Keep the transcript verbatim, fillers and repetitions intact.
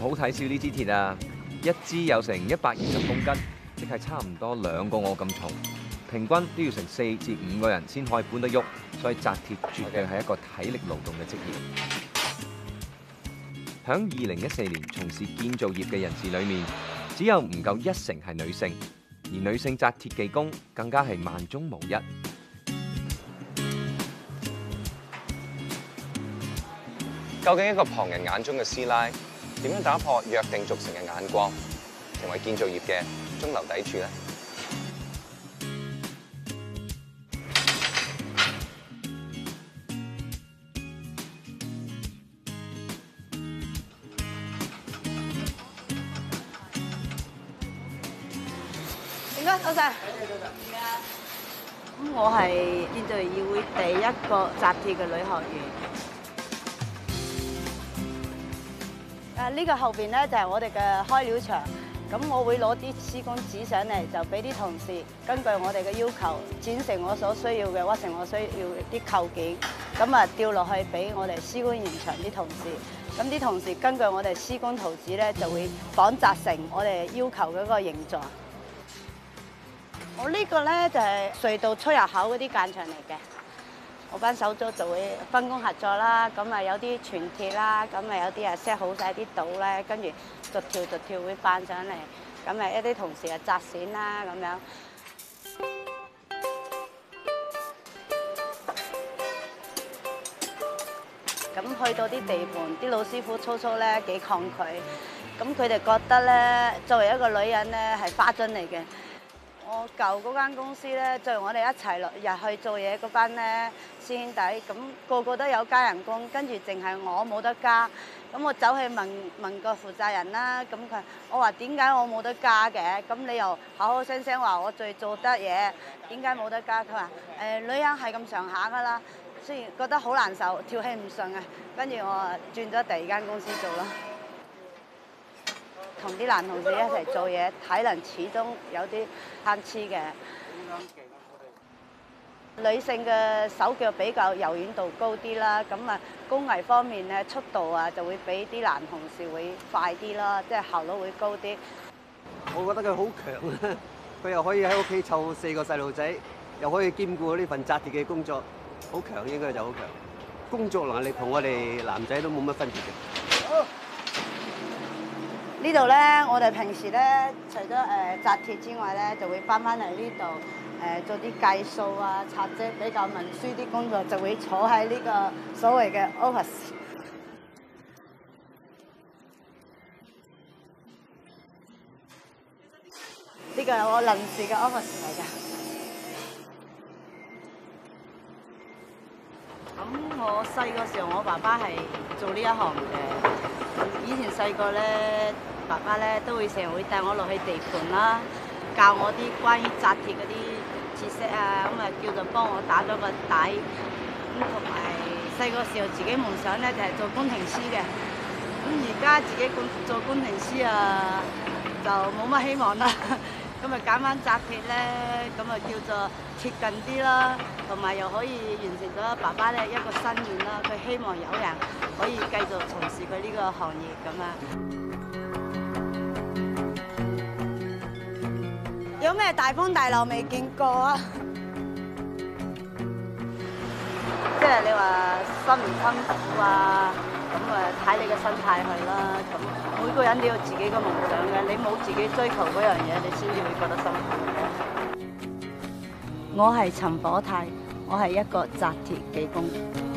好睇小呢支鐵啊！一支有成一百二十公斤，即係差唔多兩個我咁重，平均都要成四至五個人先可以搬得喐，所以紮鐵絕對係一個體力勞動嘅職業。響二零一四年從事建造業嘅人士裏面，只有唔夠一成係女性，而女性紮鐵技工更加係萬中無一。 究竟一個旁人眼中嘅師奶，點樣打破約定俗成嘅眼光，成為建造業嘅中流砥柱呢？ 唔該，多謝。咁我係建造業議會第一個紮鐵嘅女學員。誒呢個後邊咧就係我哋嘅開料場，咁我會攞啲施工紙上嚟，就俾啲同事根據我哋嘅要求剪成我所需要嘅，屈成我需要啲構件，咁啊吊落去俾我哋施工現場啲同事，咁啲同事根據我哋施工圖紙咧就會仿紮成我哋要求嘅一個形狀。我呢個咧就係隧道出入口嗰啲間牆嚟嘅。我班手足就會分工合作啦，咁啊有啲全鐵啦，咁啊有啲啊 set 好晒啲島咧，跟住逐條逐條會扮上嚟，咁啊一啲同事啊紮線啦咁樣。咁去到啲地盤，啲老師傅粗粗咧幾抗拒，咁佢哋覺得咧作為一個女人咧係花樽嚟嘅。我舊嗰間公司咧，就我哋一齊落入去做嘢嗰班咧師兄弟，咁個個都有加人工，跟住淨係我冇得加。咁我走去問問個負責人啦，咁佢我話點解我冇得加嘅？咁你又口口聲聲話我最做得嘢，點解冇得加？佢話誒女人係咁上下㗎啦，雖然覺得好難受，跳氣唔順啊。跟住我轉咗第二間公司做咯。同啲男同事一齊做嘢，體能始終有啲參差嘅。女性嘅手腳比較柔軟度高啲啦，咁啊工藝方面咧速度啊就會比啲男同事會快啲啦，即係效率會高啲。 我覺得佢好強啊！佢又可以喺屋企湊四個細路仔，又可以兼顧呢份紮鐵嘅工作，好強應該就好強。工作能力同我哋男仔都冇乜分別嘅。 呢度咧，我哋平時咧，除咗誒紮鐵之外咧，就會翻翻嚟呢度誒做啲計數啊、擦積比較文書啲工作，就會坐喺呢個所謂嘅 office。呢個係我臨時嘅 office 嚟㗎。咁我細個時候，我爸爸係做呢一行嘅。以前細個咧。爸爸咧都會成日會帶我落去地盤啦，教我啲關於紮鐵嗰啲知識啊，咁啊叫做幫我打咗個底。咁同埋細個時候自己夢想咧就係做工程師嘅，咁而家自己工做工程師啊就冇乜希望啦。咁啊揀翻紮鐵咧，咁啊叫做貼近啲啦，同埋又可以完成咗爸爸咧一個心願啦。佢希望有人可以繼續從事佢呢個行業咁啊。有咩大風大浪未見過啊？即係你話辛唔辛苦啊？咁啊睇你嘅心態去啦。咁每個人都有自己嘅夢想嘅，你冇自己追求嗰樣嘢，你先至會覺得辛苦。我係陳火泰，我係一個紮鐵技工。